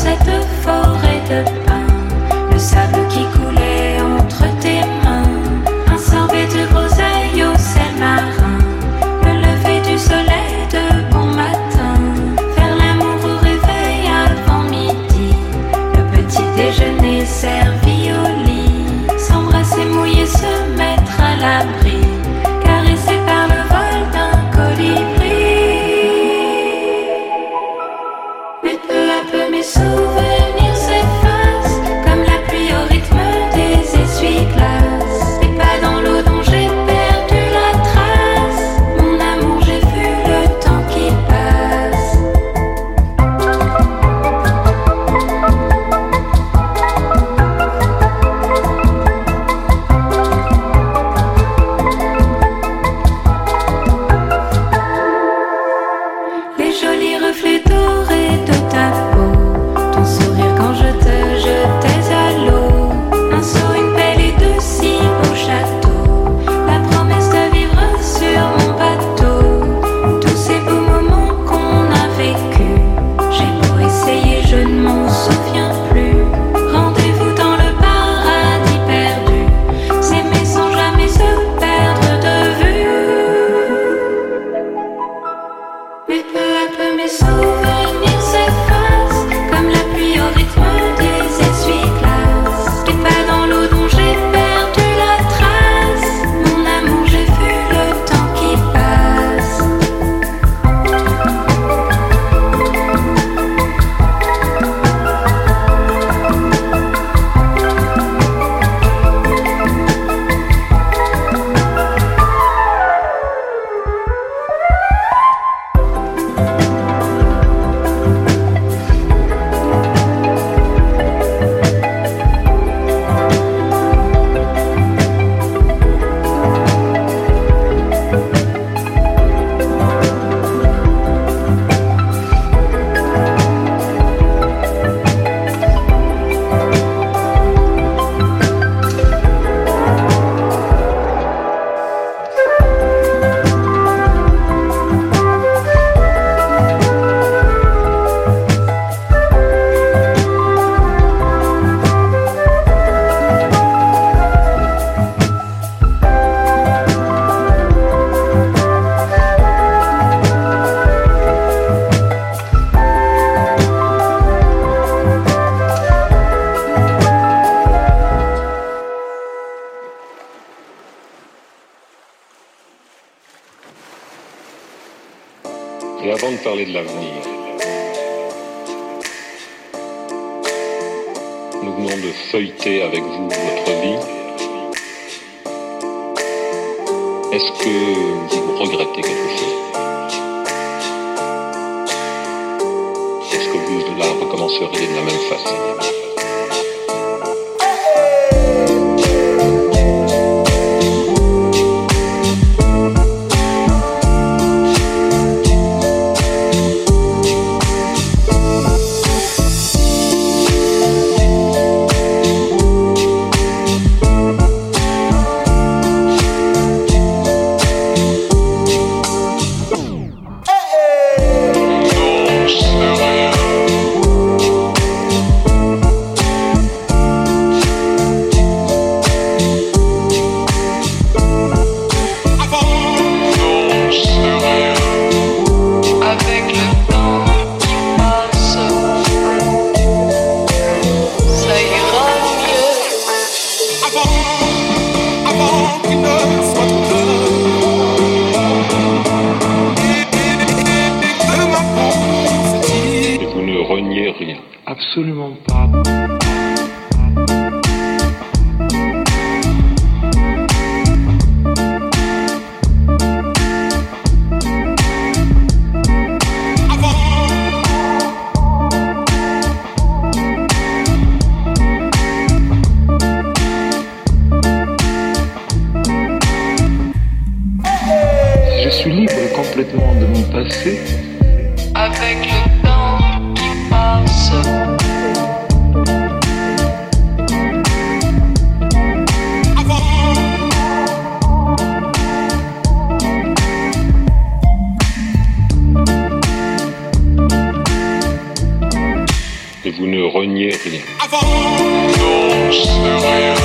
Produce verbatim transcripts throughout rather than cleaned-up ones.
cette forêt de pins, le sable qui coulait entre tes mains, un sorbet de groseille au sel marin, le lever du soleil de bon matin, faire l'amour au réveil avant midi, le petit déjeuner servi au lit, s'embrasser, mouiller, se mettre à l'abri, caressé par le vol d'un colibri. Mais peu à peu mes souvenirs s'effacent, comme la pluie au rythme des essuie-glaces. Les pas dans l'eau dont j'ai perdu la trace, mon amour, j'ai vu le temps qui passe. Les jolis reflets dorés de ta peau, ton sourire quand je te jetais à l'eau, un seau, une pelle et deux si beaux châteaux, la promesse de vivre sur mon bateau, tous ces beaux moments qu'on a vécus. J'ai beau essayer, je ne m'en souviens plus. Rendez-vous dans le paradis perdu, s'aimer sans jamais se perdre de vue. Mais peu à peu mes souvenirs s'effacent, comme la pluie au rythme des essuie-glaces. Les pas dans l'eau dont j'ai perdu la trace, mon amour, j'ai vu le temps qui passe. Et avant de parler de l'avenir, nous venons de feuilleter avec vous votre vie. Est-ce que vous regrettez quelque chose? Est-ce que vous la recommenceriez de la même façon? Absolument pas. Je suis libre complètement de mon passé. Avec le temps qui passe, Et vous ne reniez rien. Avant, non, c'est rien.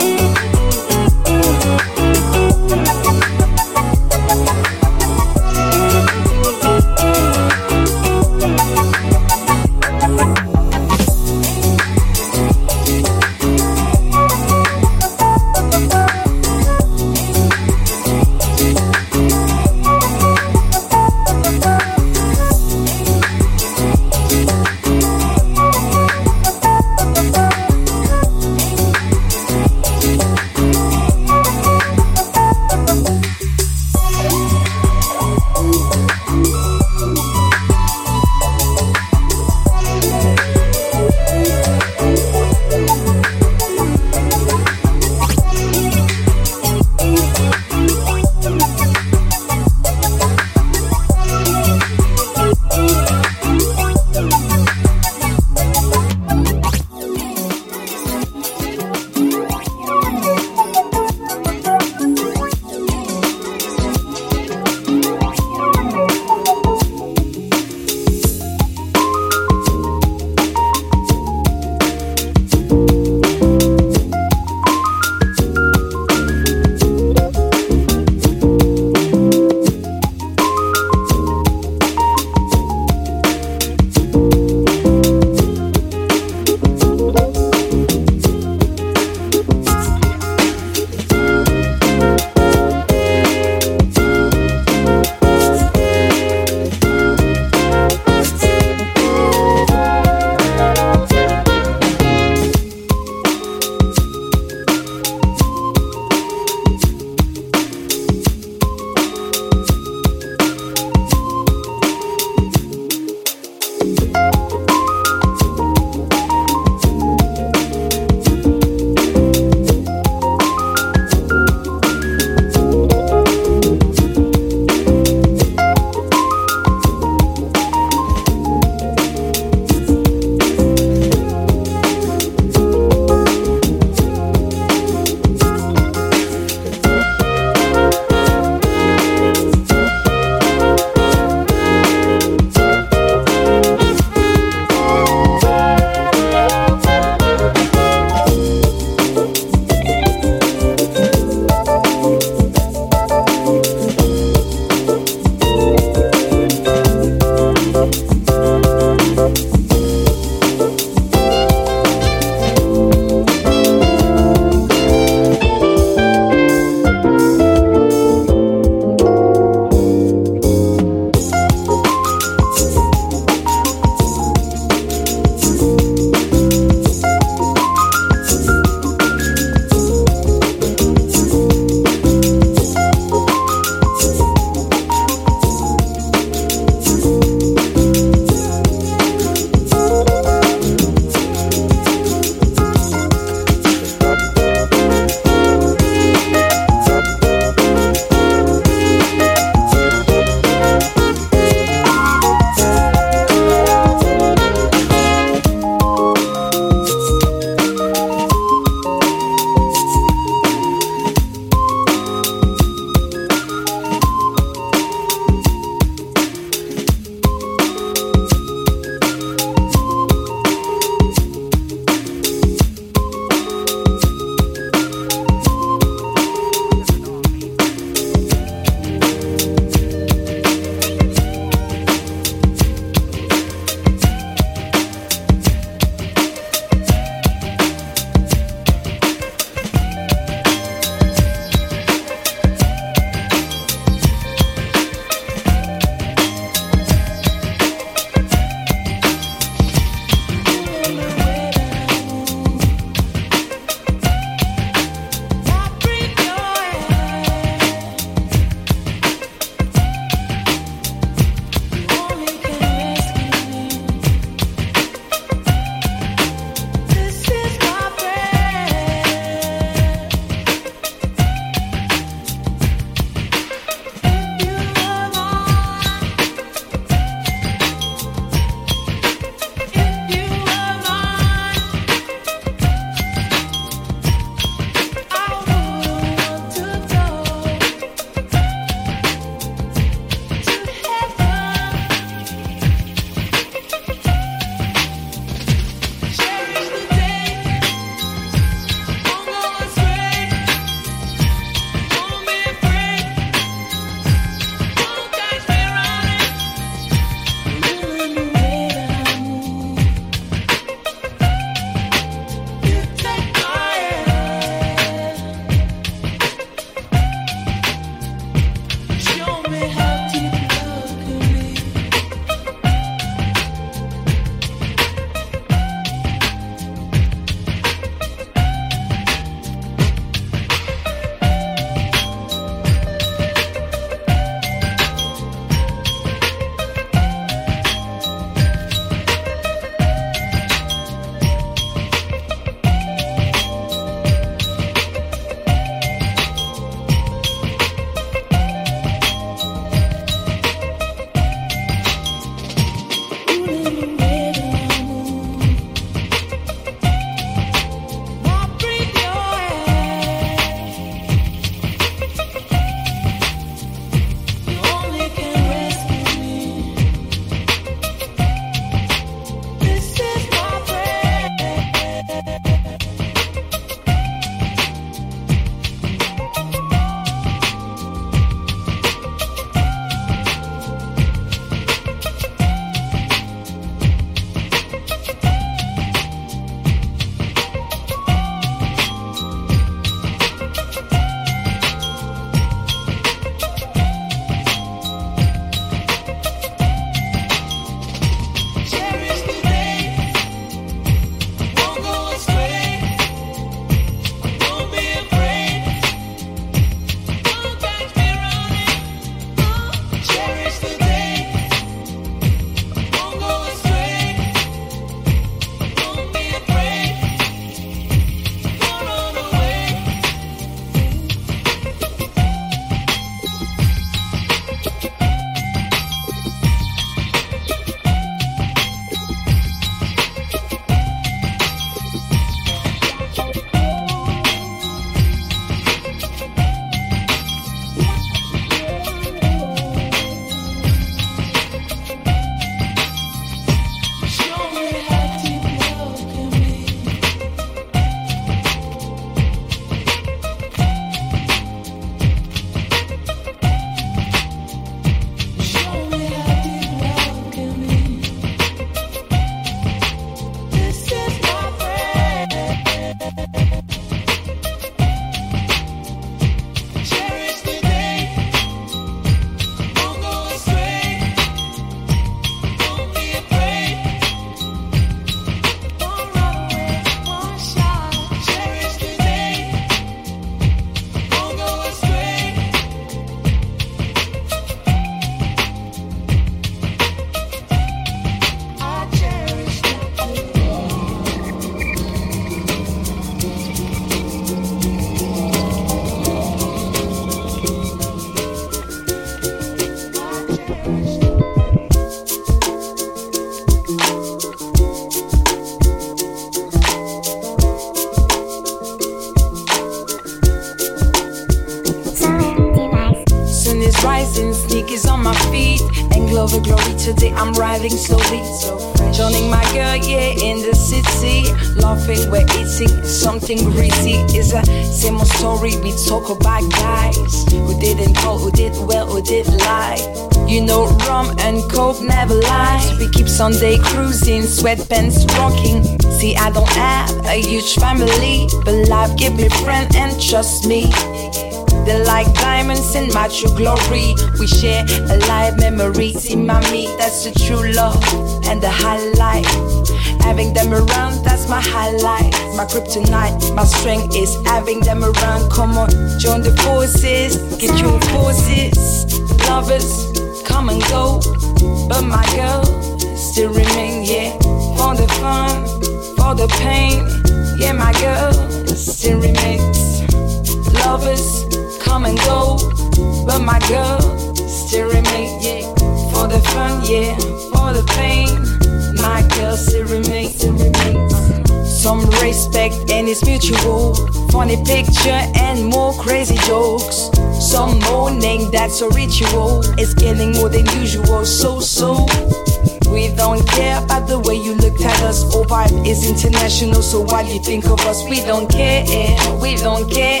rising, sneakers on my feet, and Glover glory today I'm riding slowly. Joining my girl, yeah, in the city, laughing, we're eating something greasy. It's a same old story, we talk about guys who didn't call, who did well, who did lie. You know rum and coke never lie. We keep Sunday cruising, sweatpants rocking. See, I don't have a huge family, but life give me friend and trust me. They're like diamonds in my true glory. We share a live memory. See, mommy, that's the true love and the highlight. Having them around, that's my highlight. My kryptonite, my strength is having them around. Come on, join the forces, get your forces. Lovers come and go, but my girl still remain, yeah. For the fun, for the pain, yeah, my girl still remains. Lovers come and go, but my girl still remain, yeah. For the fun, yeah, for the pain, my girl still remains, still remains. Some respect and it's mutual. Funny picture and more crazy jokes. Some mourning, that's a ritual. It's getting more than usual, so so. We don't care about the way you looked at us. Our vibe is international, so why you think of us? We don't care, we don't care.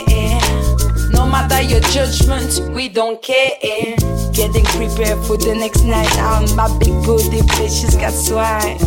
No matter your judgment, we don't care. Getting prepared for the next night out. My big booty bitch, she's got swag.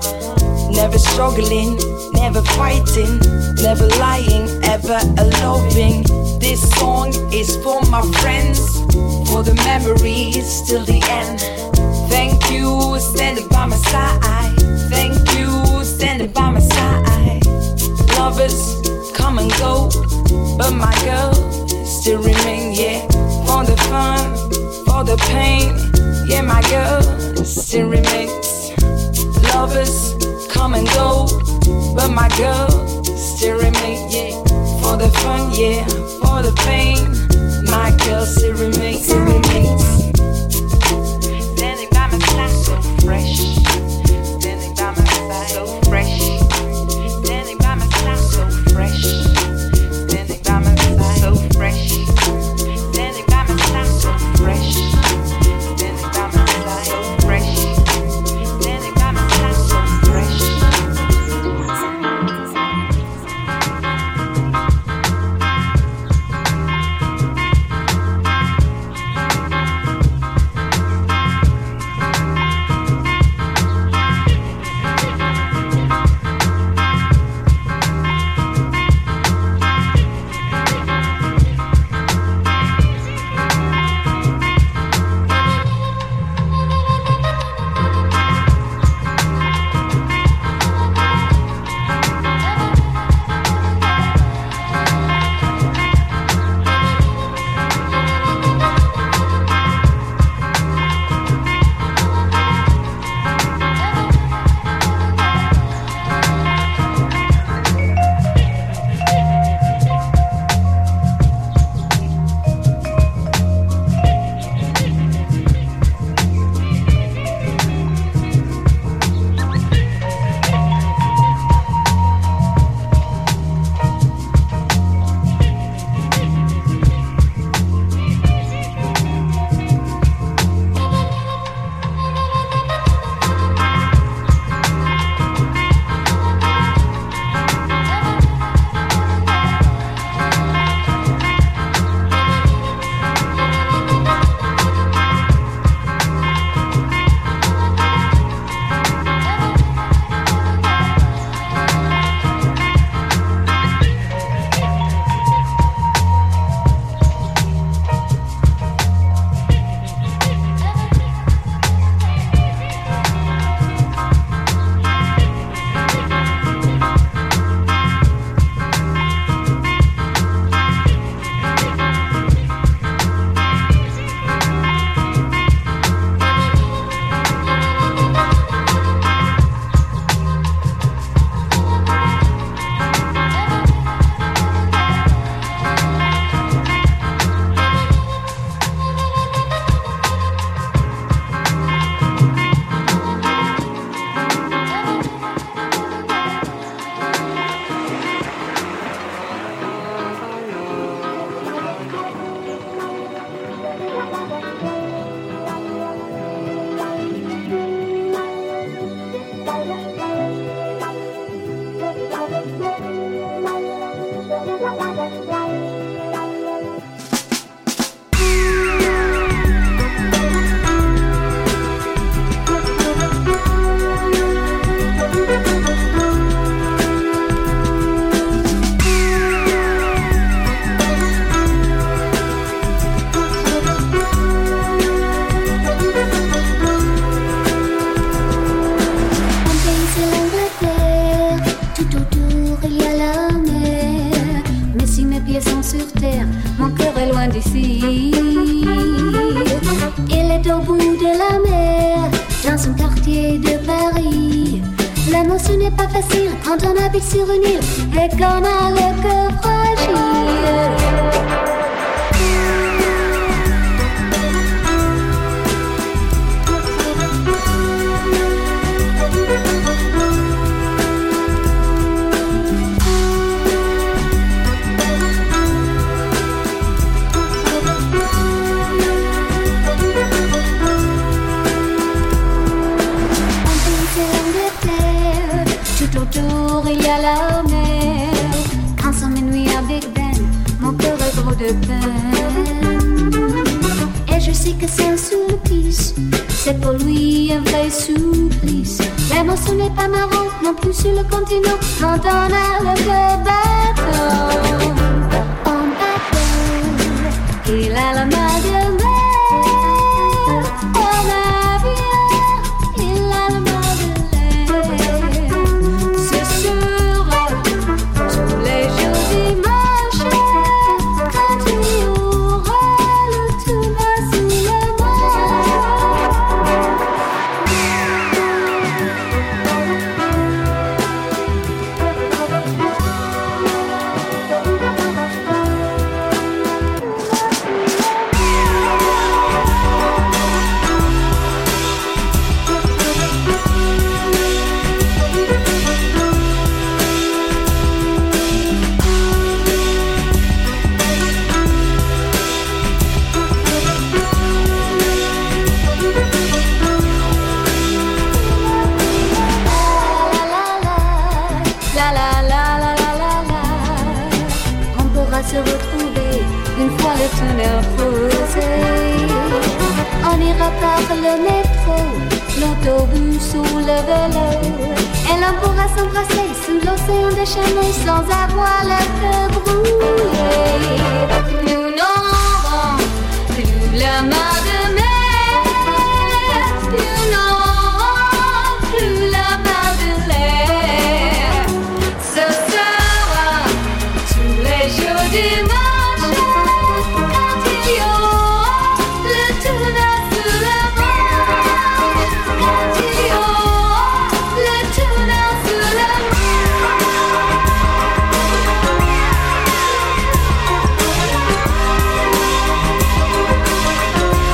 Never struggling, never fighting, never lying, ever loving. This song is for my friends, for the memories till the end. Thank you, standing by my side. Thank you, standing by my side. Lovers come and go, but my girl still remain, yeah. For the fun, for the pain, yeah, my girl still remains. Lovers come and go, but my girl still remain, yeah. For the fun, yeah, for the pain, my girl still remains, still remains. Standing by my side, so fresh. Standing by my side, so fresh. Standing by my side, so fresh. Standing by my side, so fresh. Standing by my side, so fresh. Standing by my side, so fresh. Standing by my side, so fresh. au bout de la mer, dans un quartier de Paris. L'amour ce n'est pas facile quand on habite sur une île et qu'on a le cœur fragile. Il y a la mer, quand ça m'ennuie à Big Ben, mon cœur est gros de peine. Et je sais que c'est un supplice, c'est pour lui un vrai supplice. L'amour ce n'est pas marrant, non plus sur le continent, quand on a le cœur bateau. En bateau, il a la main de mer, en avion, il a la main de se retrouver une fois le tunnel posé. On ira par le métro, l'autobus ou le vélo, et l'on pourra s'embrasser sous l'océan déchaîné sans avoir le cœur brûlé. Nous n'aurons plus la main de mer, nous n'aurons plus la main de l'air. Ce sera tous les jours dimanche, quand il y aura le tunnel sous la Manche, quand il y aura le tunnel sous la Manche.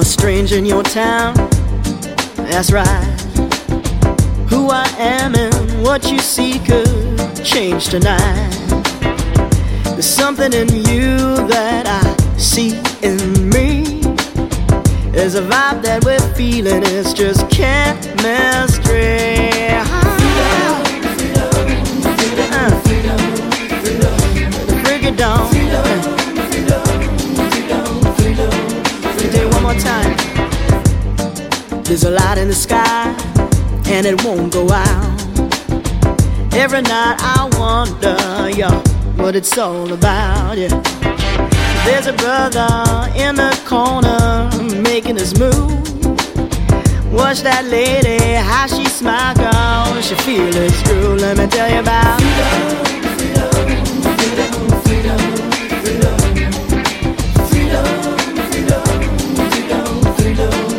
a stranger in your town. That's right. Who I am and what you see could change tonight. There's something in you that I see in me. There's a vibe that we're feeling, it's just chemistry. Break it down. Do it one more time. There's a light in the sky, and it won't go out. Every night I wonder, yeah, what it's all about, yeah. There's a brother in the corner making his move. Watch that lady, how she smiles, girl, she feel it's true. Let me tell you about freedom, freedom, freedom, freedom, freedom, freedom, freedom, freedom, freedom.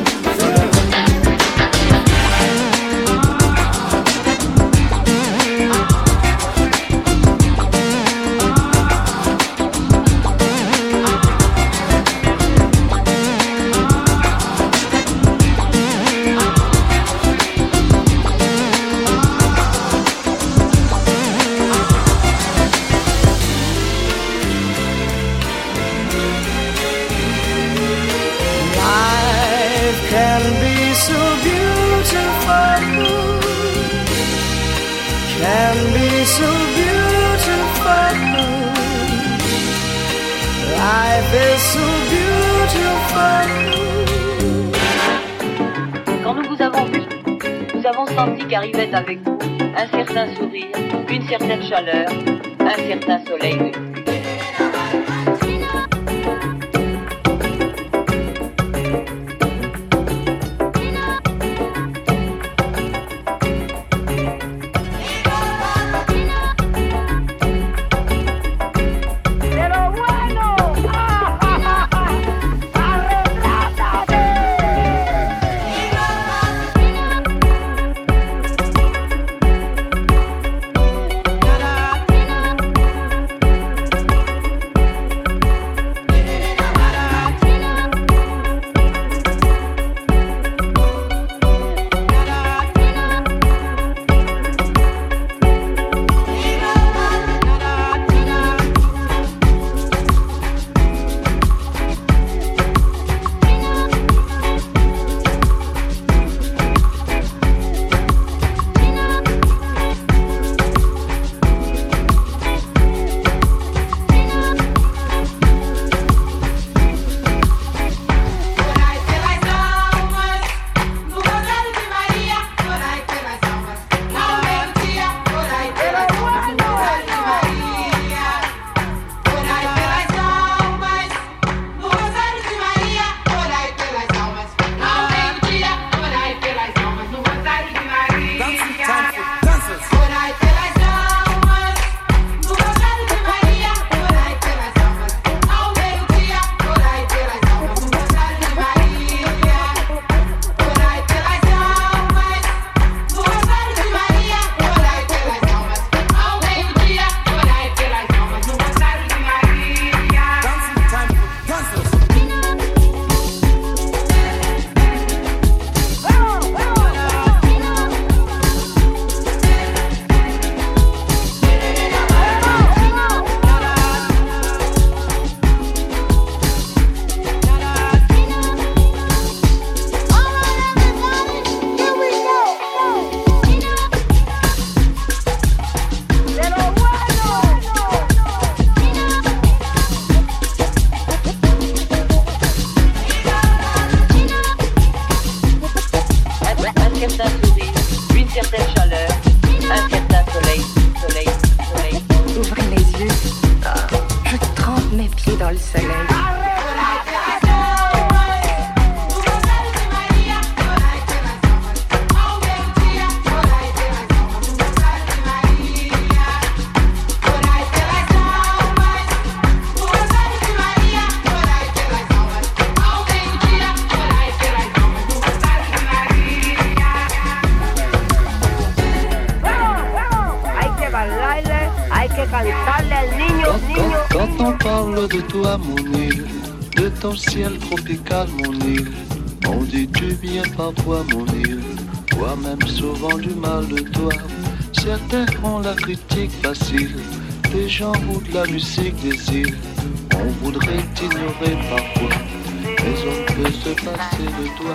Quand nous vous avons vu, nous avons senti qu'arrivait avec vous un certain sourire, une certaine chaleur, un certain soleil de lumière. Quand on parle de toi, mon île, de ton ciel tropical, mon île, On dit du bien parfois mon île, toi-même souvent du mal de toi. Certains ont la critique facile, des gens ou de la musique des îles. On voudrait t'ignorer parfois, mais on peut se passer de toi.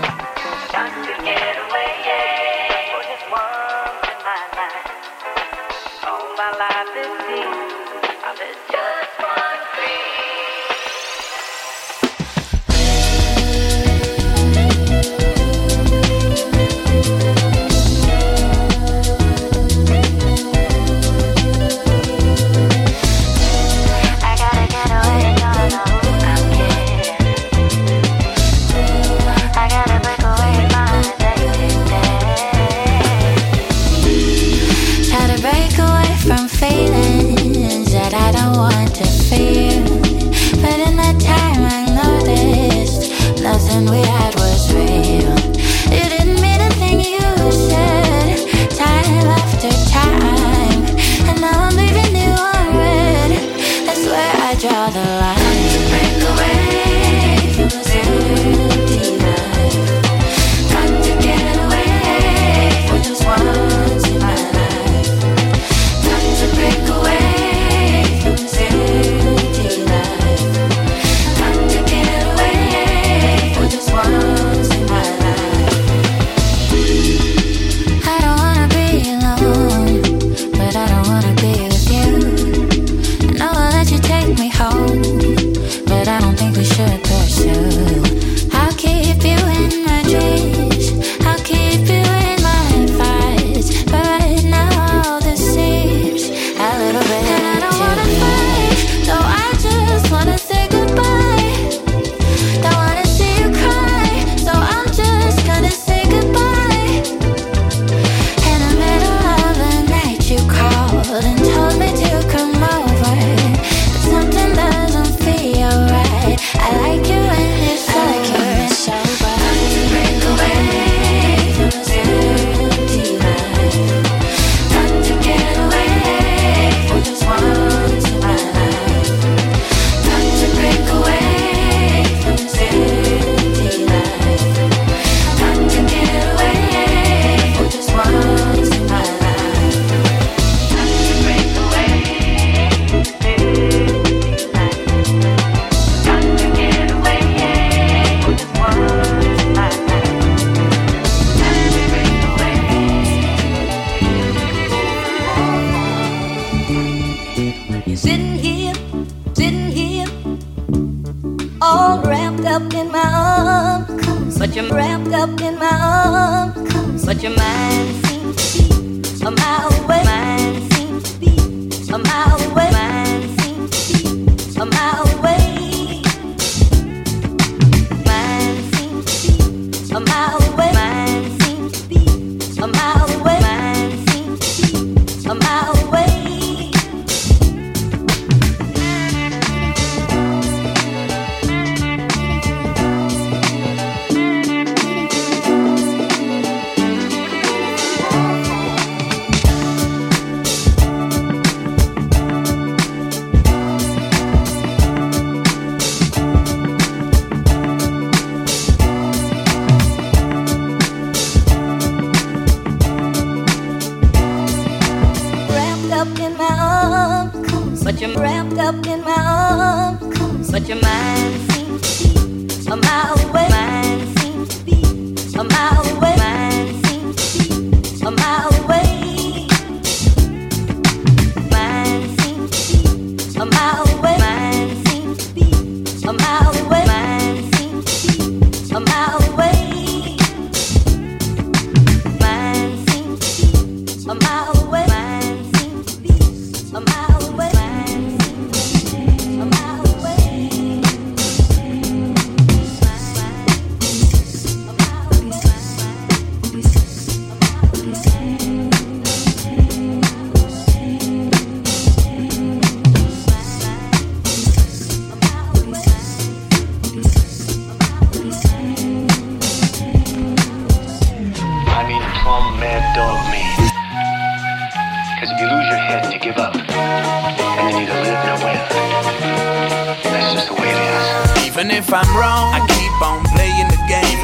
Even if I'm wrong, I keep on playing the game.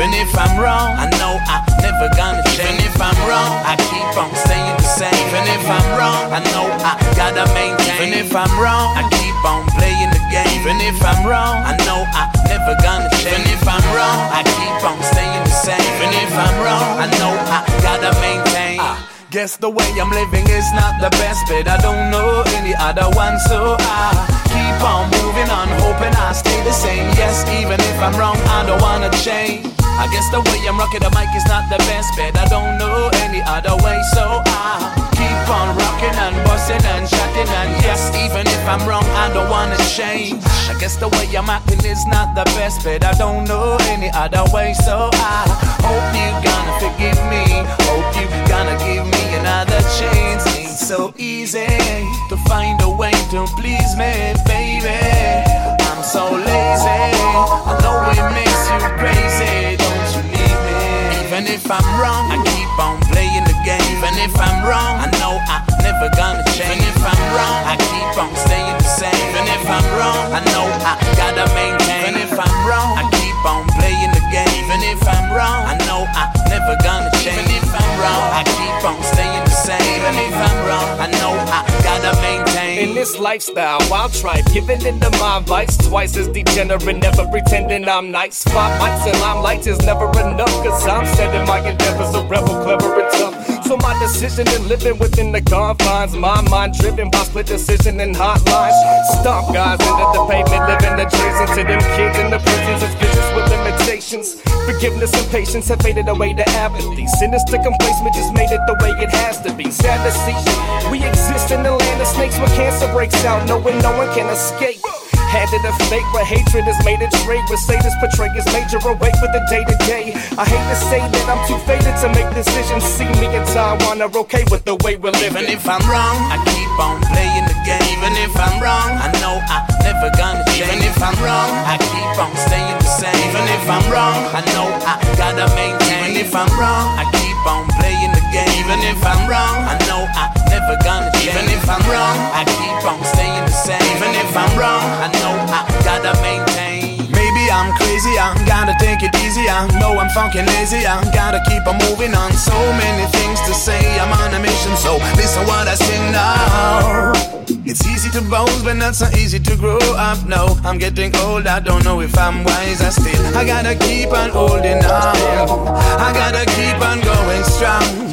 Even if I'm wrong, I know I'm never gonna change. Even if I'm wrong, I keep on staying the same. Even if I'm wrong, I know I gotta maintain. Even if I'm wrong, I keep on playing the game. Even if I'm wrong, I know I'm never gonna change. Even if I'm wrong, I keep on staying the same. Even if I'm wrong, I know I gotta maintain. uh, Guess the way I'm living is not the best, but I don't know any other one, so I keep on moving on, hoping I stay the same. Yes, even if I'm wrong, I don't wanna change. I guess the way I'm rocking the mic is not the best, but I don't know any other way, so I keep on rocking and busting and shouting, and yes, even if I'm wrong, I don't wanna change. I guess the way I'm acting is not the best, but I don't know any other way, so I hope you gonna forgive me. Hope you gonna give me another chance. Ain't so easy to find a way to please me, baby. I'm so lazy. I know it makes you crazy. Don't you leave me. Even if I'm wrong, I keep on playing the game. Even if I'm wrong, I know I'm never gonna change. Even if I'm wrong, I keep on staying the same. Even if I'm wrong, I know I gotta maintain. Even if I'm wrong, I keep on playing the game. Even if I'm wrong, I know I'm never gonna change. Even if I'm wrong, I keep on staying the same. Even if I'm wrong, I know I gotta maintain. In this lifestyle, wild tripe, giving into my vice, twice as degenerate, never pretending I'm nice. Spotlights and limelights is never enough, cause I'm setting my endeavors a rebel, clever and tough. So my decision in living within the confines, my mind driven by split decision and hotlines. Stomp guys into the pavement, living adjacent to them kids in the prisons as vicious with limitations. Forgiveness and patience have faded away to apathy. Sinister complacement just made it the way it has to be. Sad to see, we exist in the land of snakes where cancer breaks out, knowing no one can escape. Handed a fake, but hatred is made a trait. Where Satan's portray is major away for the day to day. I hate to say that I'm too faded to make decisions. See me in Taiwan are okay with the way we're living. Even if I'm wrong, I keep on playing the game. Even if I'm wrong, I know I'm never gonna change. Even if I'm wrong, I keep on staying the same. Even if I'm wrong, I know I gotta maintain. Even if I'm wrong, I keep on playing the game. Even if I'm wrong, I know I'm never gonna change. Even if I'm wrong, I keep on staying the same. Even if I'm wrong, I know I gotta maintain. Maybe I'm crazy, I gotta take it easy. I know I'm fucking lazy, I gotta keep on moving on. So many things to say, I'm on a mission, so listen what I sing now. It's easy to boast, but not so easy to grow up. No, I'm getting old, I don't know if I'm wise. I still, I gotta keep on holding on. I gotta keep on going strong.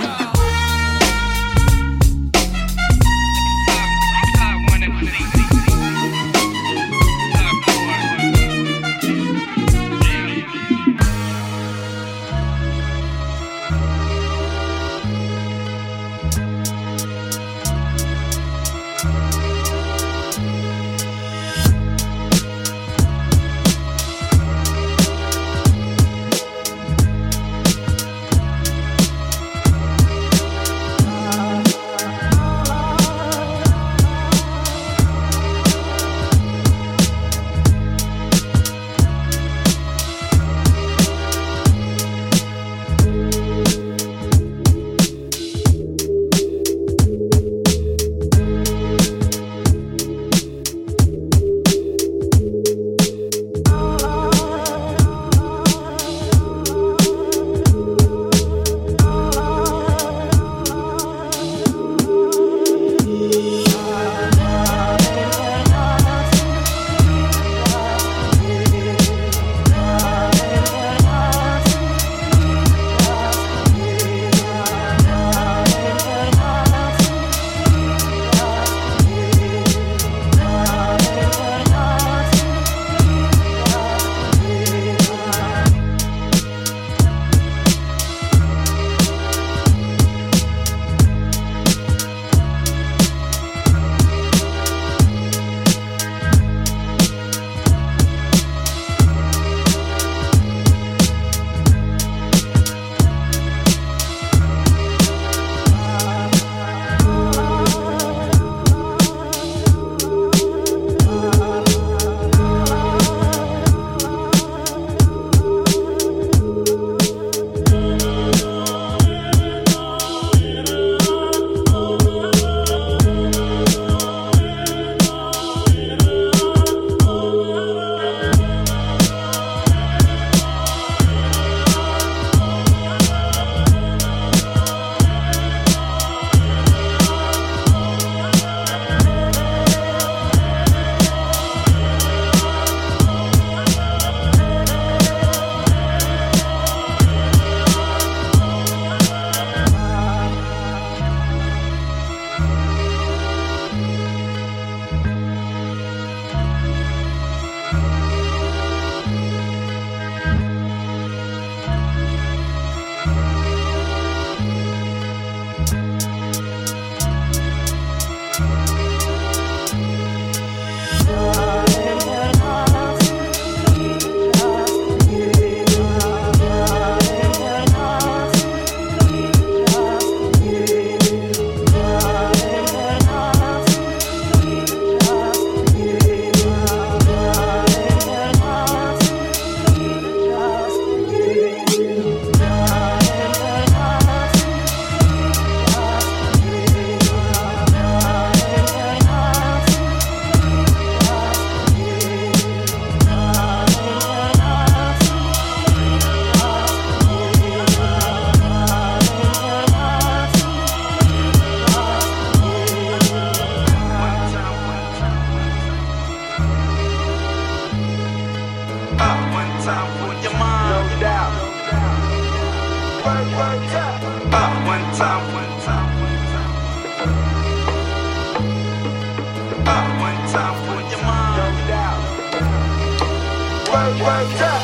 Ah, one time for your mind. No doubt. Ah, one time, one time, one time. Ah, one time for your mind. No doubt. Work, work, work.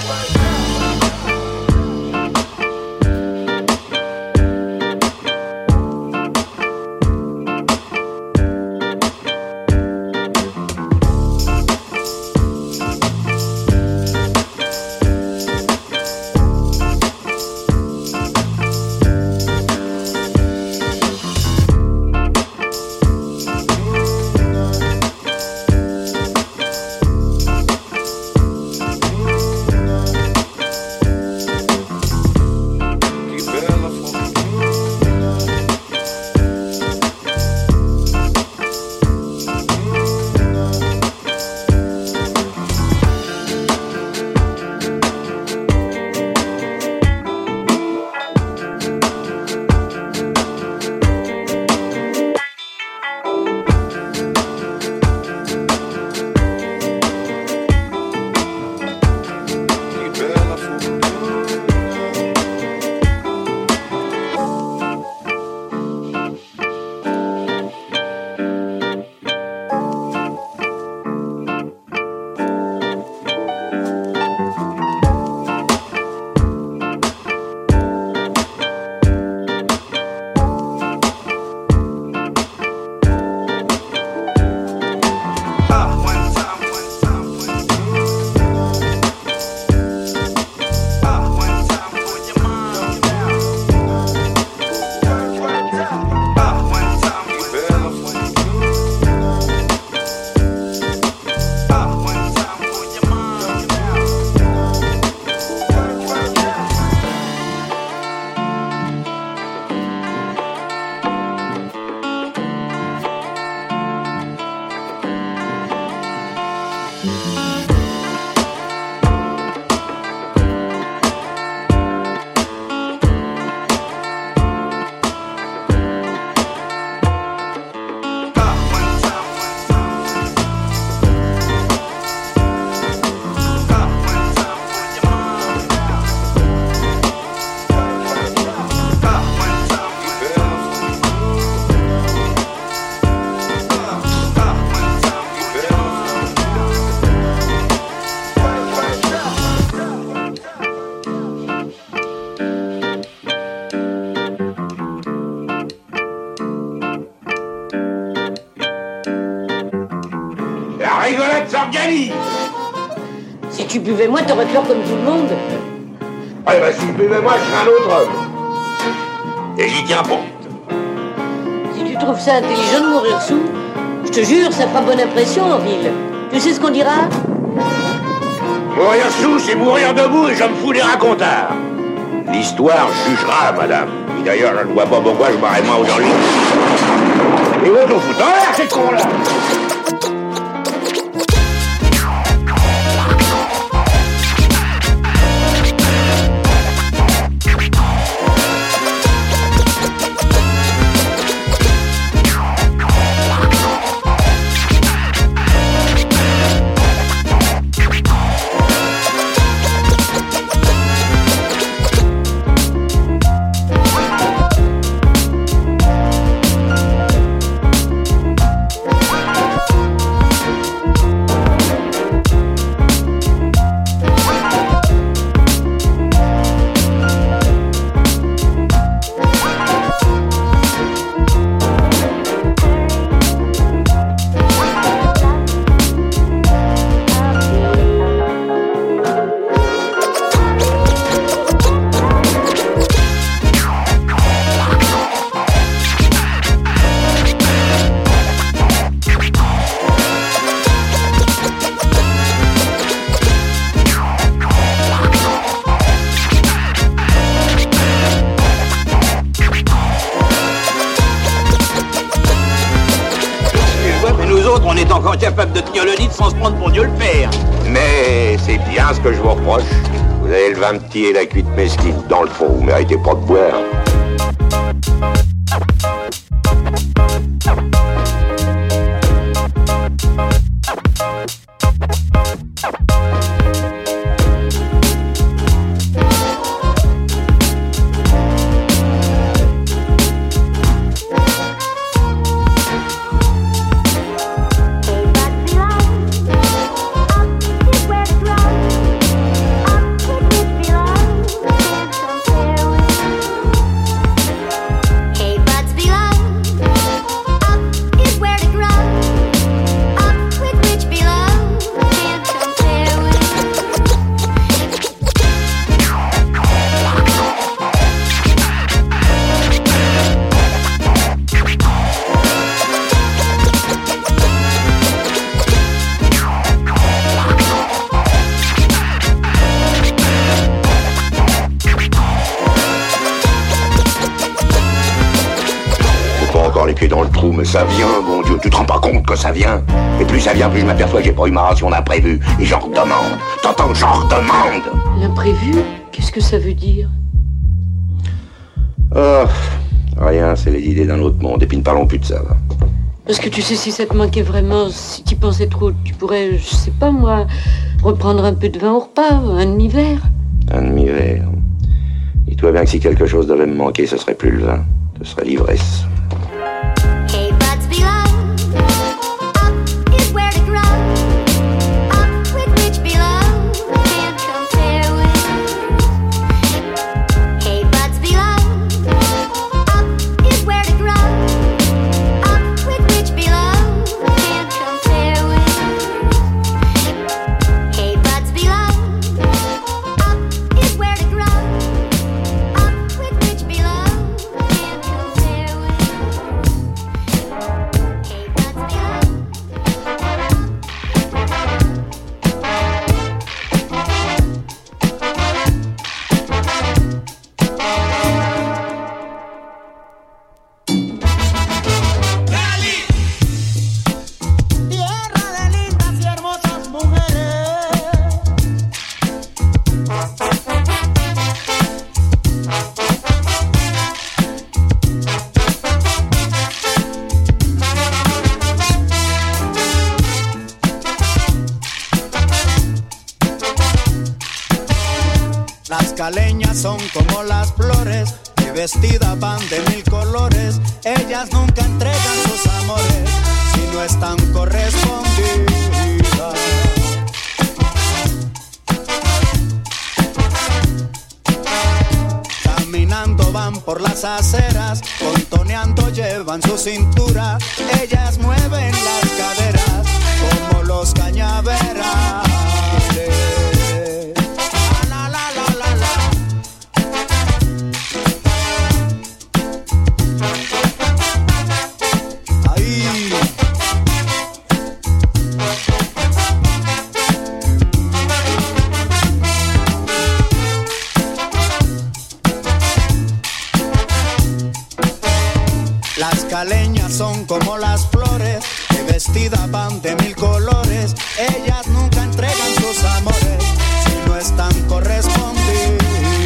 Si tu buvais moins, t'aurais peur comme tout le monde. Ouais, bah si je buvais moins, je serais un autre homme. Et j'y tiens pas. Si tu trouves ça intelligent de mourir sous, je te jure, ça fera bonne impression en ville. Tu sais ce qu'on dira? Mourir sous, c'est mourir debout et je me fous des racontars. L'histoire jugera, madame. Et d'ailleurs, je ne vois pas pourquoi je barrais moins aujourd'hui. Et où t'en fous en l'air, ces cons-là? On est encore capable de tenir le lit sans se prendre pour Dieu le Père. Mais c'est bien ce que je vous reproche. Vous avez le vin petit et la cuite mesquine dans le fond. Vous méritez pas de boire. mais ça vient, bon Dieu, tu te rends pas compte que ça vient? Et plus ça vient, plus je m'aperçois que j'ai pas eu ma ration d'imprévu. Et j'en redemande. T'entends, j'en redemande. L'imprévu? Qu'est-ce que ça veut dire? Oh, rien, c'est les idées d'un autre monde. Et puis ne parlons plus de ça, va. Parce que tu sais, si ça te manquait vraiment, si tu pensais trop, tu pourrais, je sais pas moi, reprendre un peu de vin au repas, un demi-verre. Un demi-verre. Dis-toi bien que si quelque chose devait me manquer, ce serait plus le vin, ce serait l'ivresse. Caleñas son como las flores que vestidas van de mil colores. Ellas nunca entregan sus amores si no están correspondidas. Caminando van por las aceras, contoneando llevan su cintura. Ellas mueven las caderas como los cañaverales. Caleñas son como las flores que vestidas van de mil colores. Ellas nunca entregan sus amores si no están correspondidas.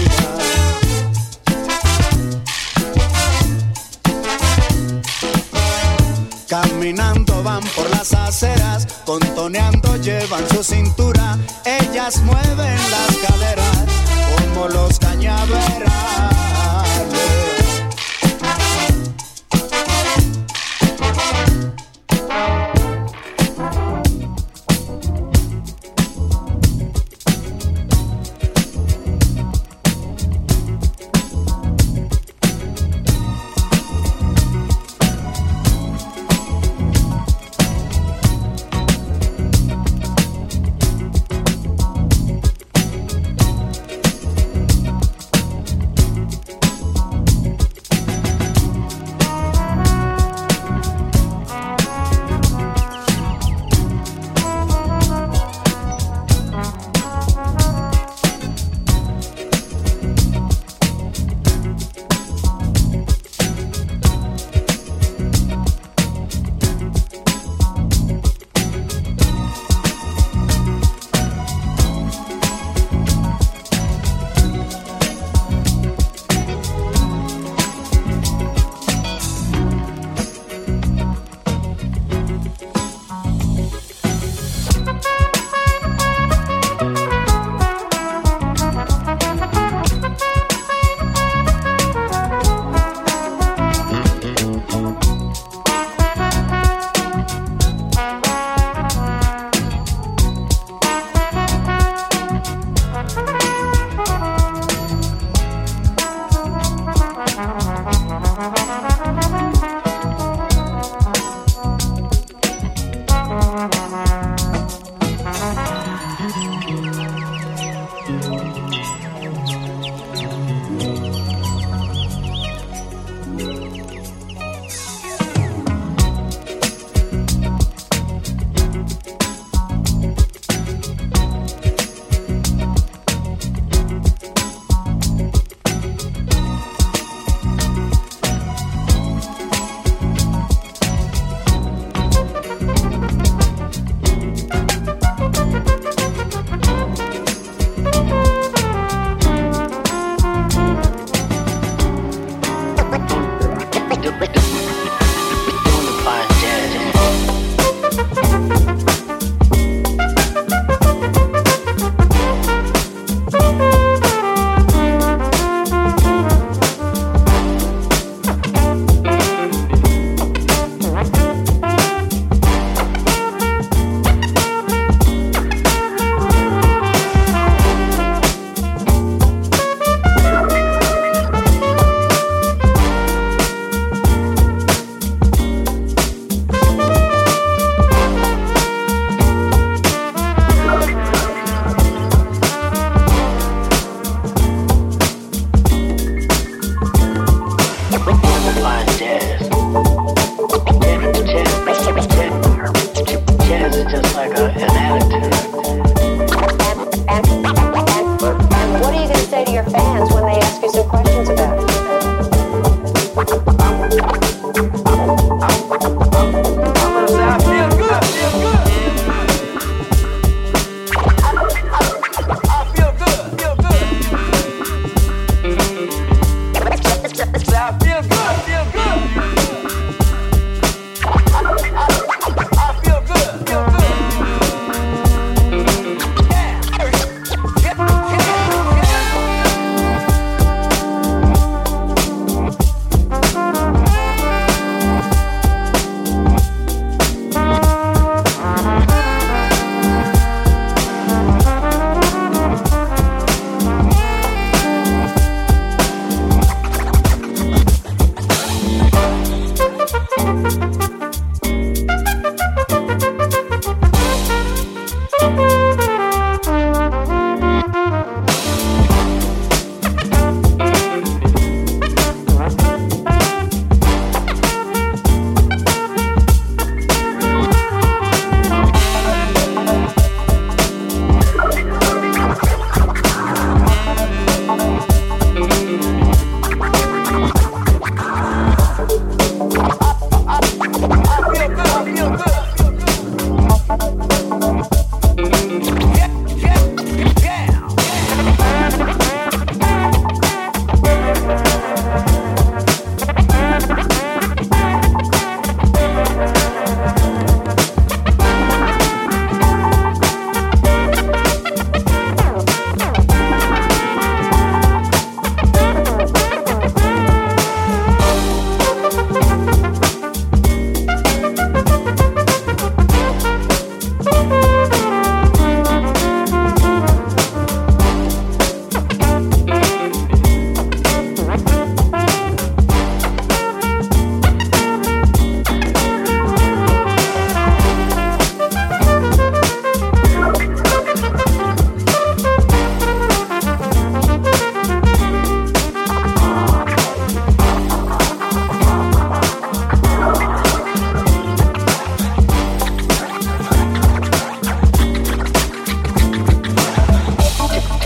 Caminando van por las aceras, contoneando llevan su cintura. Ellas mueven las caderas como los cañaverales.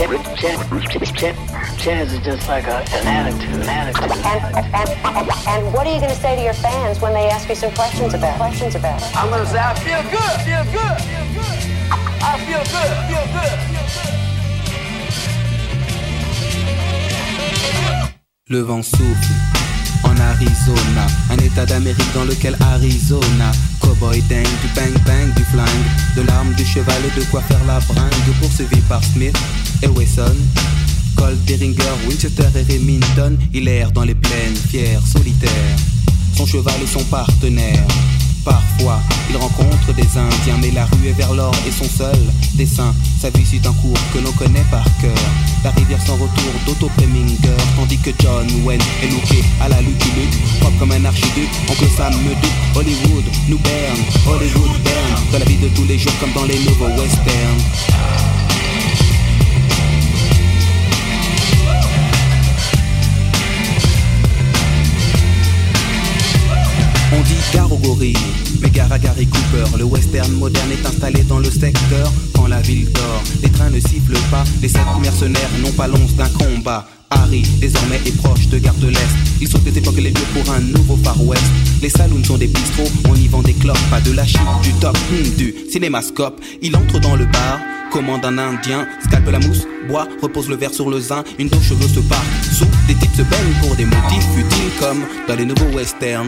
Jazz is just like a, an attitude, an attitude. And, and, and what are you going to say to your fans when they ask you some questions about questions about it? I'm going to say, I feel good, feel good, feel good. I feel good, feel good, feel good. Le vent souffle en Arizona, un état d'Amérique dans lequel Arizona. Cowboy dingue, du bang bang, du flingue, de l'arme, du cheval et de quoi faire la bringue. Poursuivi par Smith et Wesson, Colt, Derringer, Winchester et Remington. Il erre dans les plaines, fier, solitaire, son cheval et son partenaire. Parfois, il rencontre des Indiens, mais la rue est vers l'or et son seul dessin. Sa vie suit un cours que l'on connaît par cœur. La rivière sans retour d'Otto Preminger, tandis que John Wayne est looké à la Lucky Luke, propre comme un archiduc. Oncle Sam me doute, Hollywood nous berne, Hollywood berne, dans la vie de tous les jours comme dans les nouveaux westerns. On dit gare aux gorilles, mais gare à Gary Cooper. Le western moderne est installé dans le secteur. Quand la ville dort, les trains ne sifflent pas. Les sept mercenaires n'ont pas l'once d'un combat. Harry, désormais, est proche de Gare de l'Est. Il saute des époques et les lieux pour un nouveau Far West. Les saloons sont des bistrots, on y vend des clopes. Pas de la chip, du top, hmm, du cinémascope. Il entre dans le bar, commande un indien, scalpe la mousse, boit, repose le verre sur le zin. Une dos cheveux se part sous, des types se baignent pour des motifs futiles comme dans les nouveaux westerns.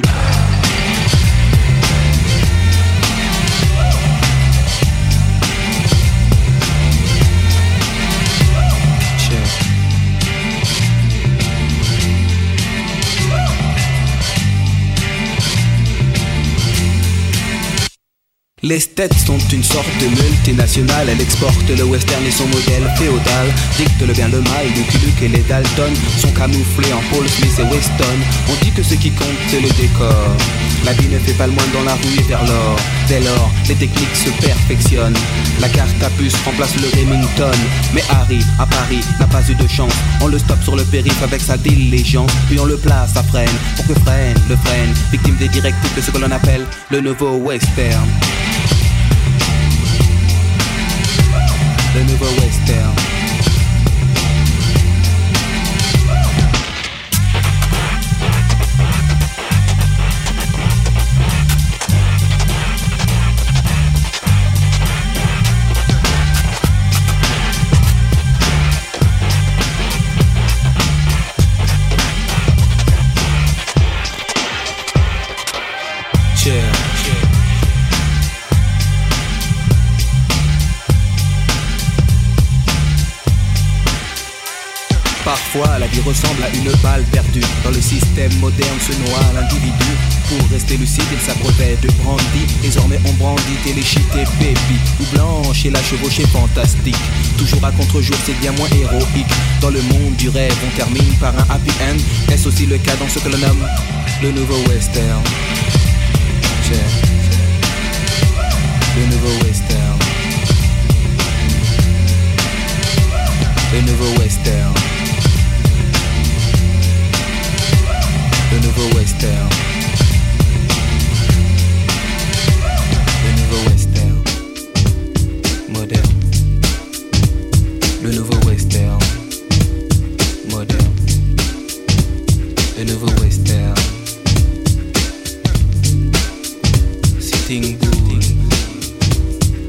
Les States sont une sorte de multinationale. Elle exporte le western et son modèle féodal. Dicte le bien le mal, Lucky Luke et les Dalton sont camouflés en Paul Smith et Weston. On dit que ce qui compte c'est le décor. La vie ne fait pas le moins dans la rue et vers l'or. Dès lors, les techniques se perfectionnent. La carte à puce remplace le Remington. Mais Harry, à Paris, n'a pas eu de chance. On le stoppe sur le périph' avec sa diligence. Puis on le place à freine, pour que freine, le freine. Victime des directives de ce que l'on appelle le nouveau western. Le nouveau western. Parfois, la vie ressemble à une balle perdue. Dans le système moderne se noie l'individu. Pour rester lucide, il s'abreuvait de brandy. Désormais, on brandit téléchité baby. Ou blanche et la chevauchée fantastique. Toujours à contre-jour, c'est bien moins héroïque. Dans le monde du rêve, on termine par un happy end. Est-ce aussi le cas dans ce que l'on nomme le nouveau western? Yeah. Le nouveau western. Le nouveau western. Le nouveau western. Le nouveau western. Moderne. Le nouveau western. Moderne. Le nouveau western. Sitting Bull.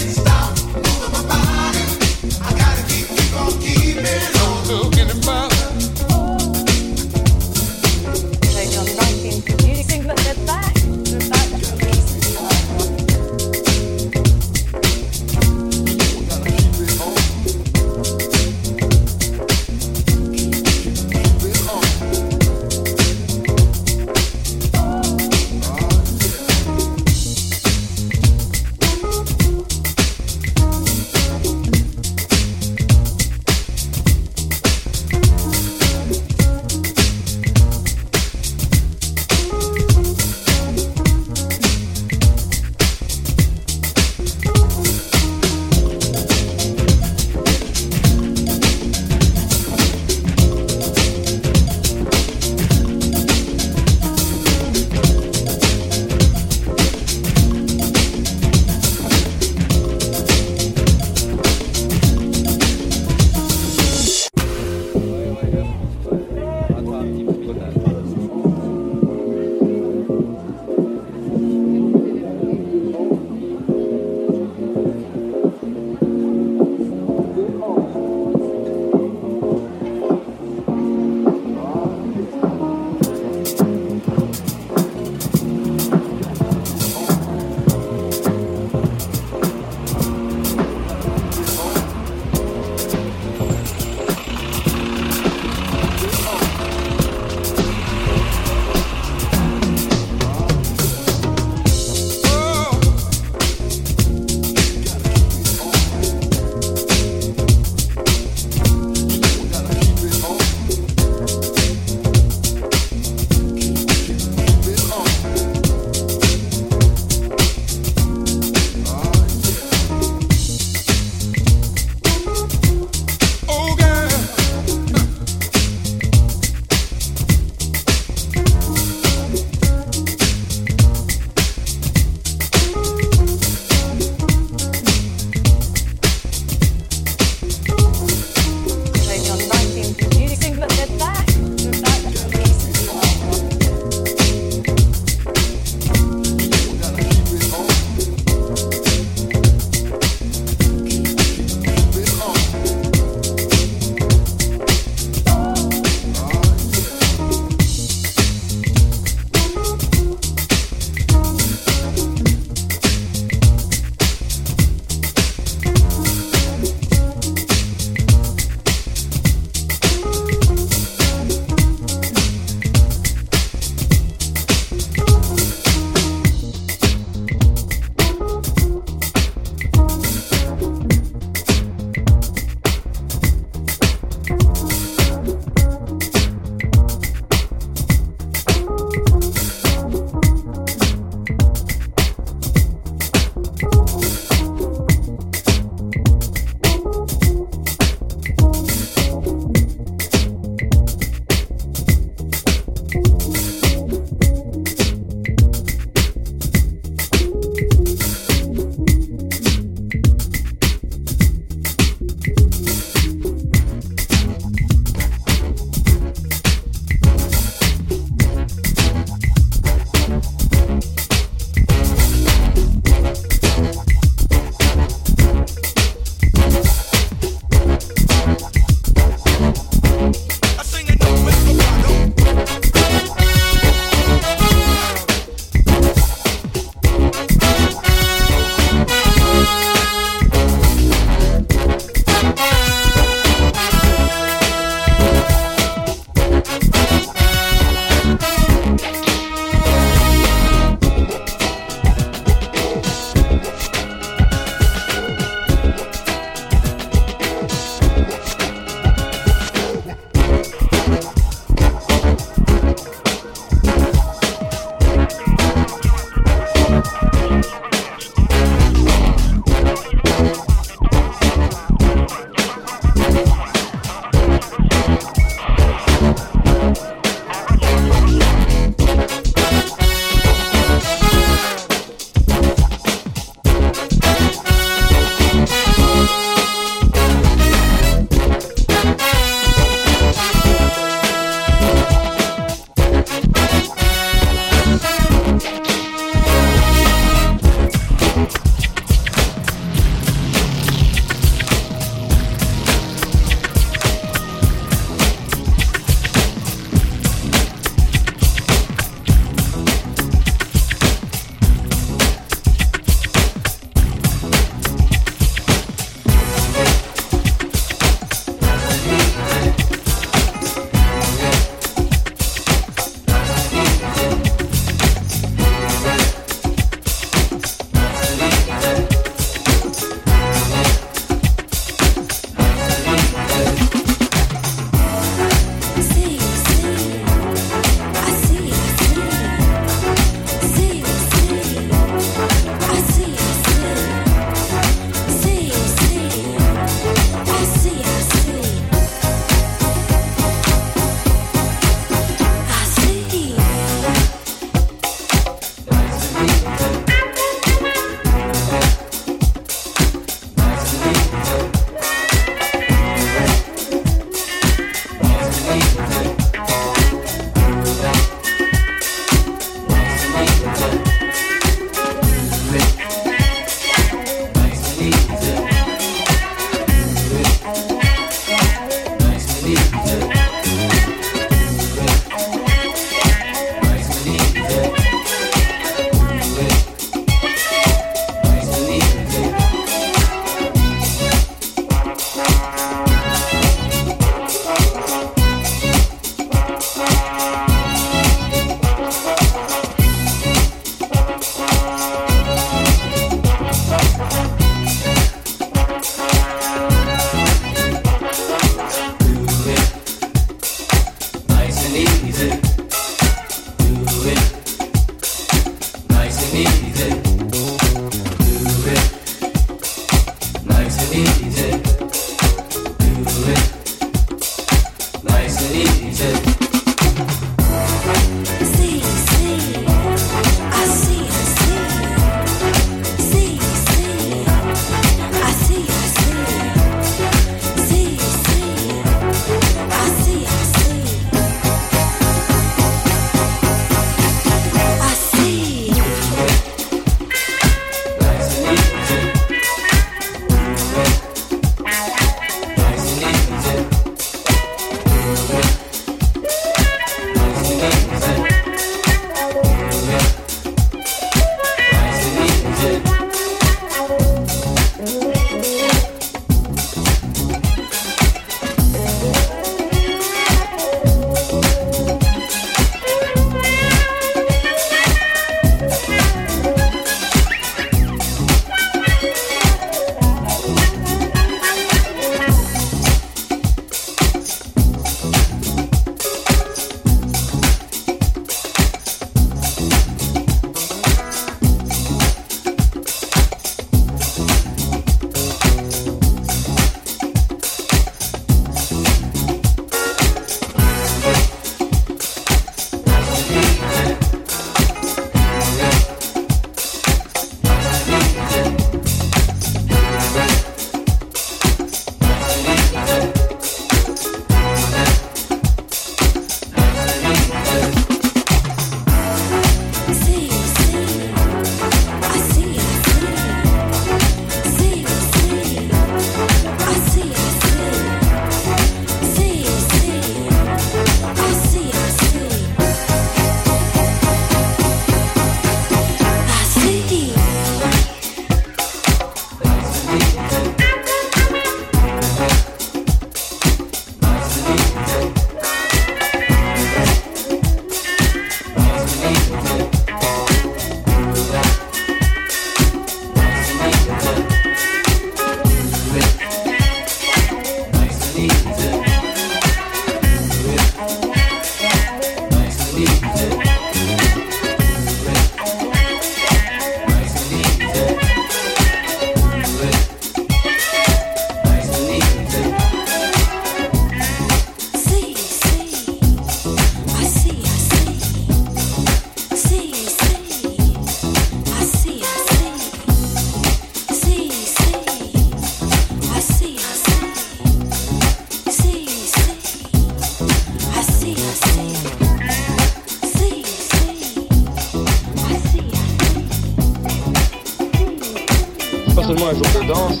seulement un jour de danse.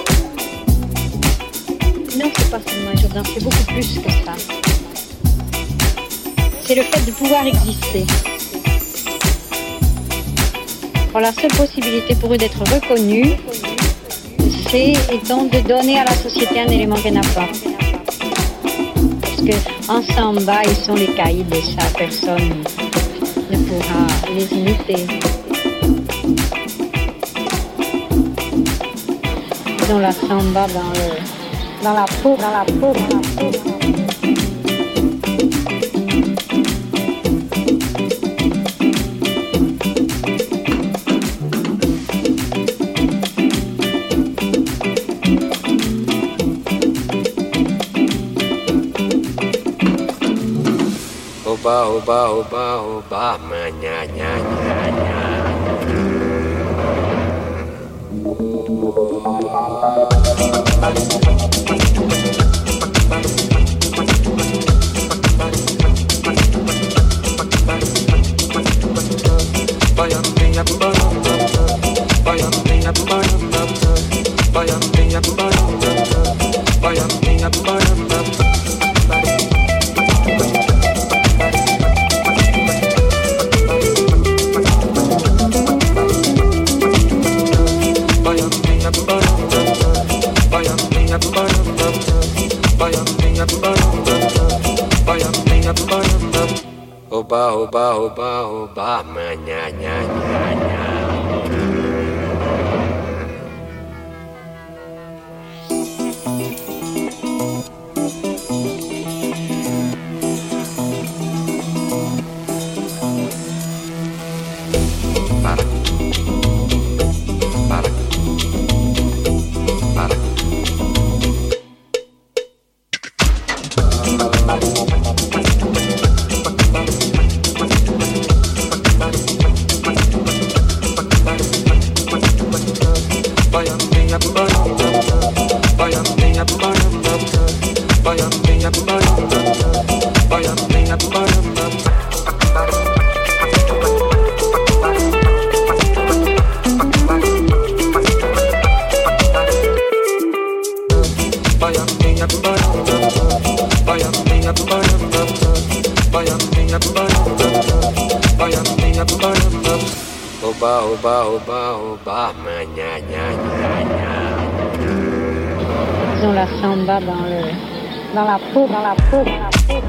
Non, c'est pas seulement un jour de danse, c'est beaucoup plus que ça. C'est le fait de pouvoir exister. Alors, la seule possibilité pour eux d'être reconnus, c'est donc de donner à la société un élément qu'elle n'a pas. Parce qu'en samba, ils sont les caïds et ça, personne ne pourra les imiter. Ils ont la samba dans, le, dans la peau, dans la peau, dans la peau. Oba, oba, oba, oba, ma nya nya nya nya. Oba, oba, oba, oba, ma nya nya nya nya. Para, para, para. Oba, oba, oba, oba, ma gna gna gna gna. Ils ont la samba dans le, dans la peau, dans la peau, dans la peau.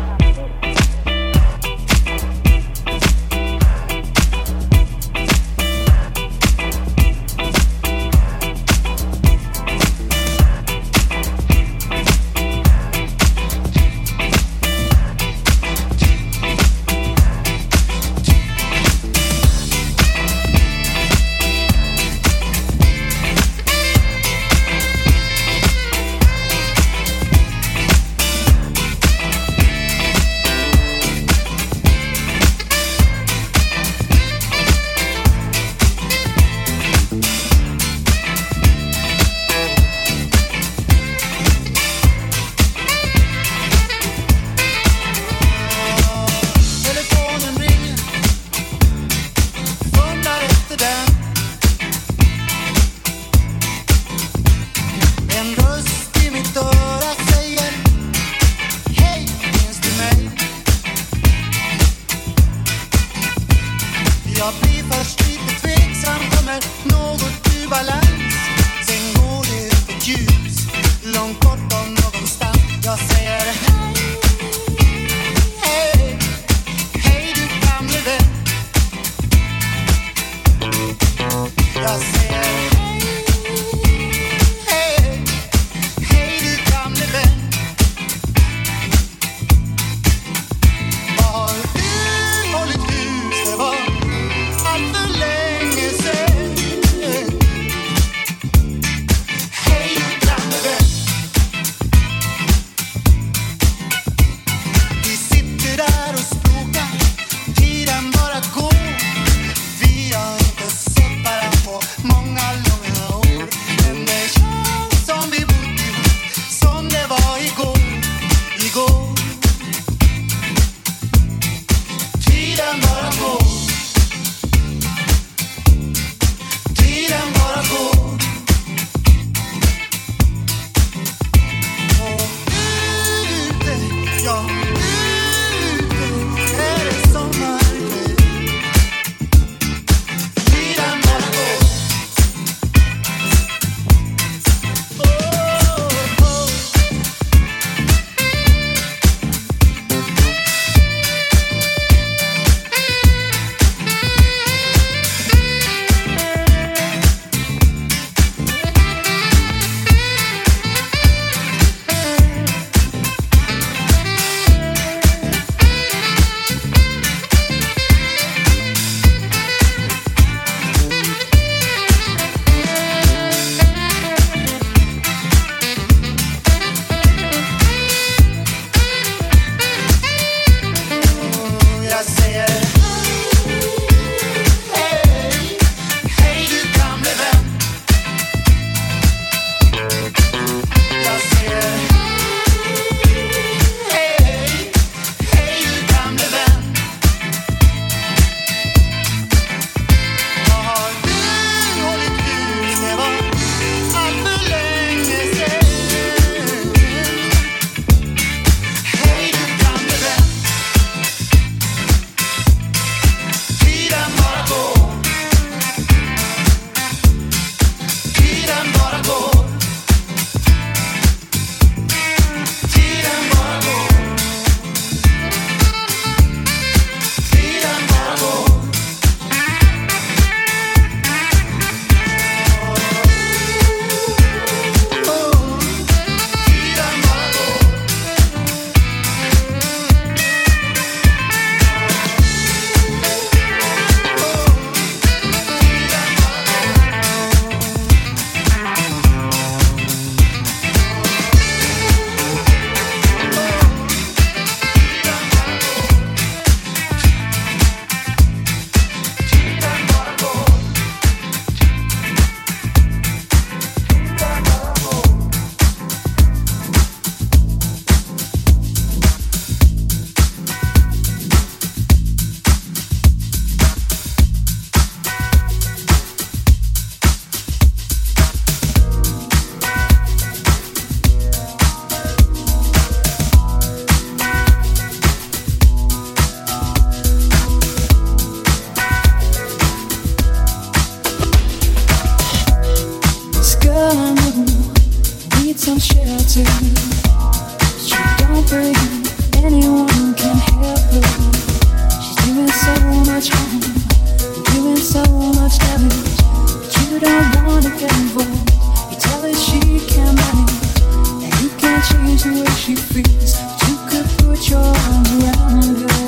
some shelter. She don't believe anyone can help her. She's doing so much harm, doing so much damage. But you don't wanna get involved. You tell her she can't manage, and you can't change the way she feels. But you could put your arms around her.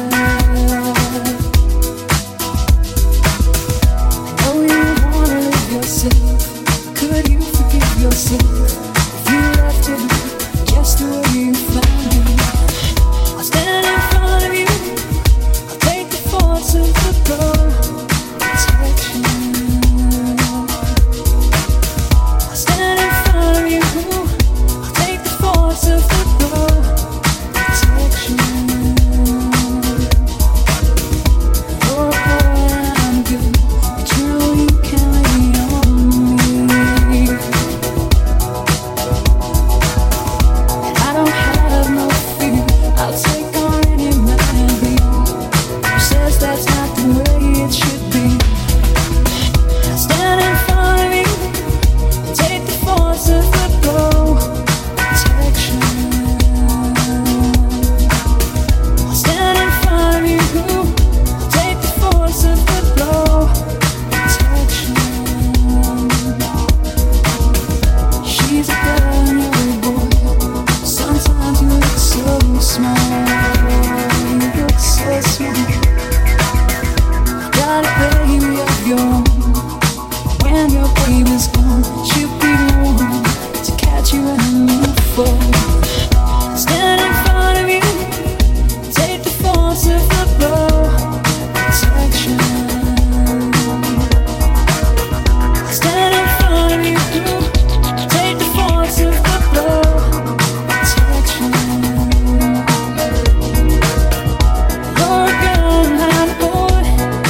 I know you wanna live yourself. Could you forgive yourself if you left it just the way you found it? I'll stand in front of you. I'll take the force of the blow. Protection. I'll stand in front of you. I'll take the force of the blow. Protection. You're a boy and I'm good, but you know you can't lean on me. And I don't have no fear. I'll take on any man who says that's not the way it should be. I'll stand in front of you and take the force of the blow. Protection. I'll stand in front of you, take the force of the blow. Protection. She's a girl and you're a boy. Sometimes you look so small. You look so small. Got a baby of your own. When your baby's gone, she'll be the one to catch you when you fall. Stand in front of you, take the force of the blow. Protection. Stand in front of you, take the force of the blow. Protection. You're a girl and I'm a boy.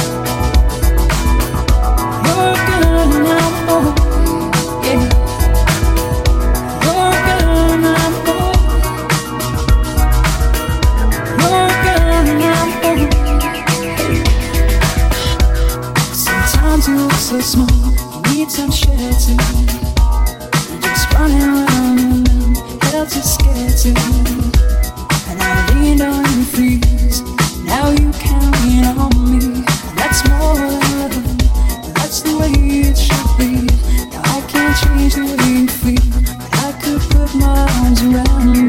You're a girl and I'm a boy. Yeah. You're a girl and I'm a boy. You're a girl and I'm a boy. Sometimes you look so small, you need some shelter. You're just running around and around, held too scared to. And I leaned on your freeze, now you can't lean on me. And that's more than love, that's the way it should be. Now I can't change the way you feel, but I could put my arms around you.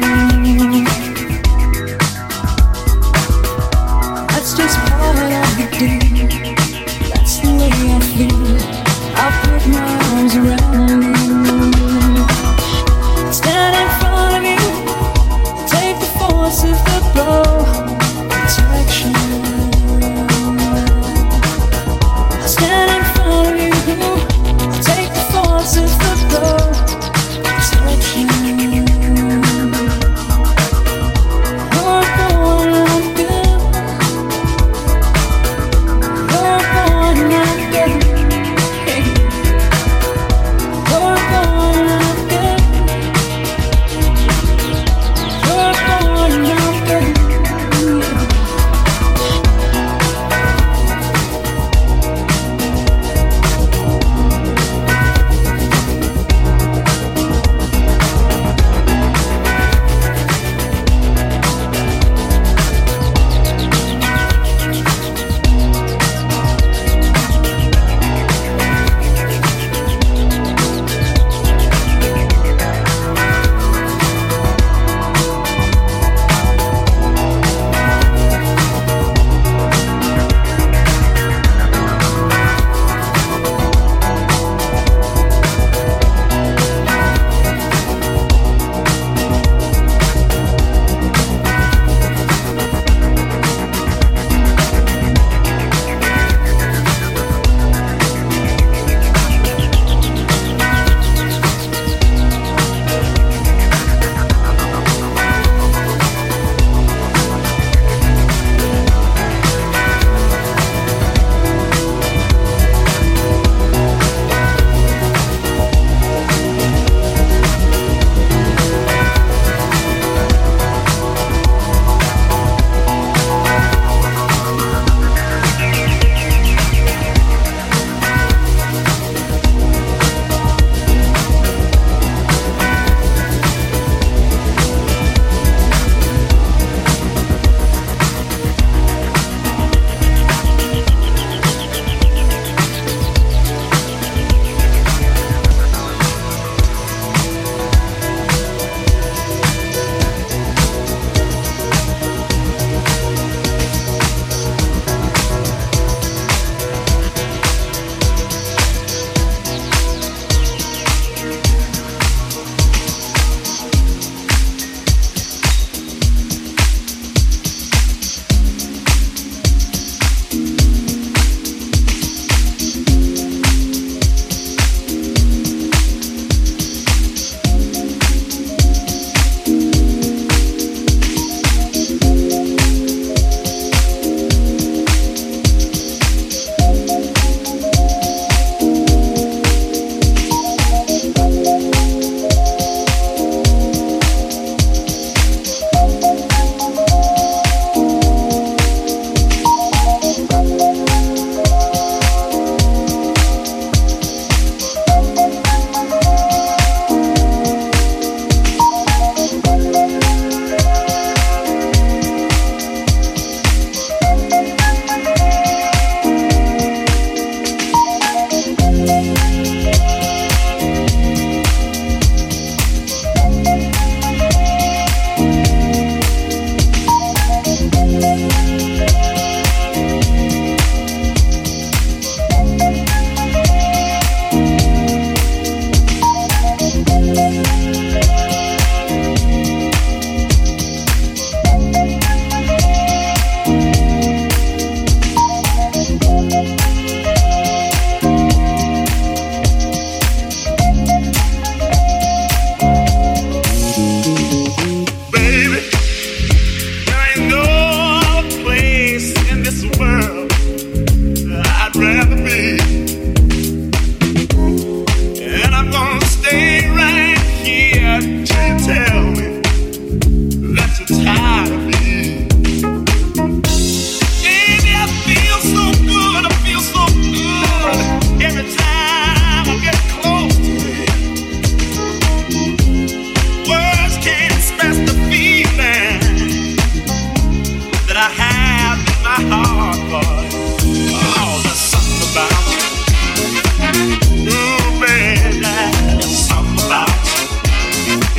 That's just part of the deal, that's the way I feel. I'll put my arms around you. Stand in front of you, take the force of the blow. Protection. I stand in front of you, take the force of the blow. Protection.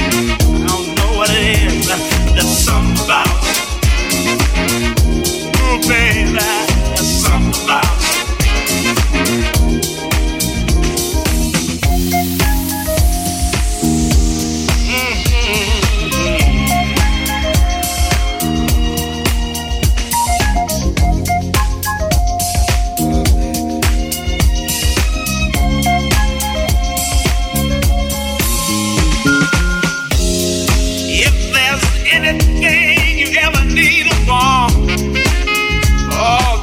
I don't know what it is. There's something about it. Oh, baby, there's something about it. Anything you ever need or want, oh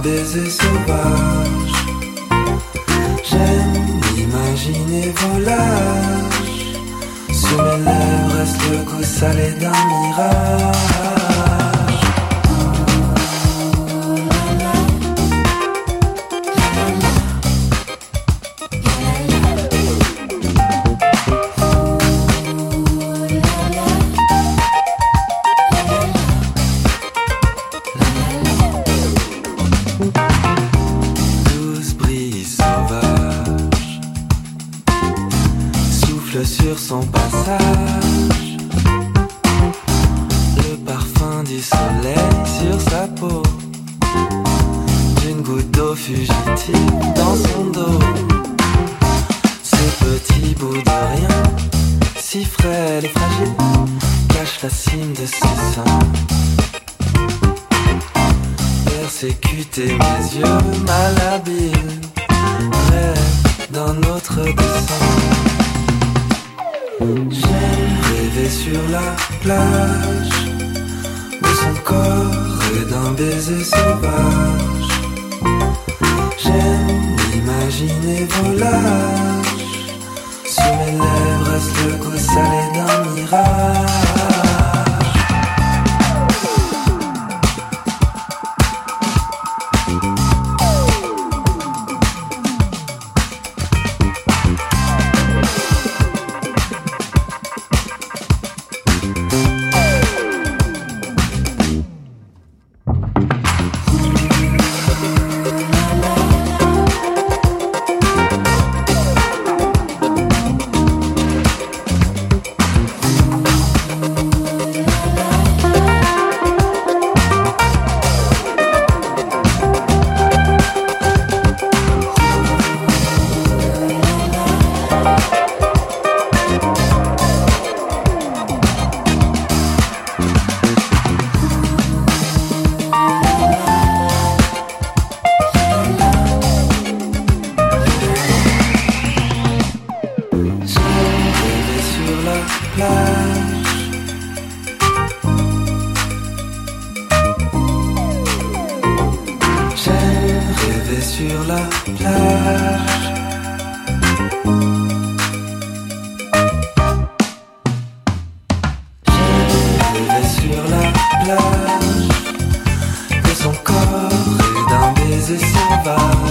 baiser sauvage. J'aime imaginer volage. Sur mes lèvres reste le goût salé d'un mirage. Sur son passage, le parfum du soleil sur sa peau, d'une goutte d'eau fugitive dans son dos. Ce petit bout de rien, si frêle et fragile, cache la cime de ses seins. Persécuter mes yeux malhabiles, rêve d'un autre dessin. J'aime rêver sur la plage de son corps et d'un baiser sauvage. J'aime imaginer volage. Sur mes lèvres reste le goût salé d'un mirage. Sur la plage, de son corps et d'un baiser sauvage.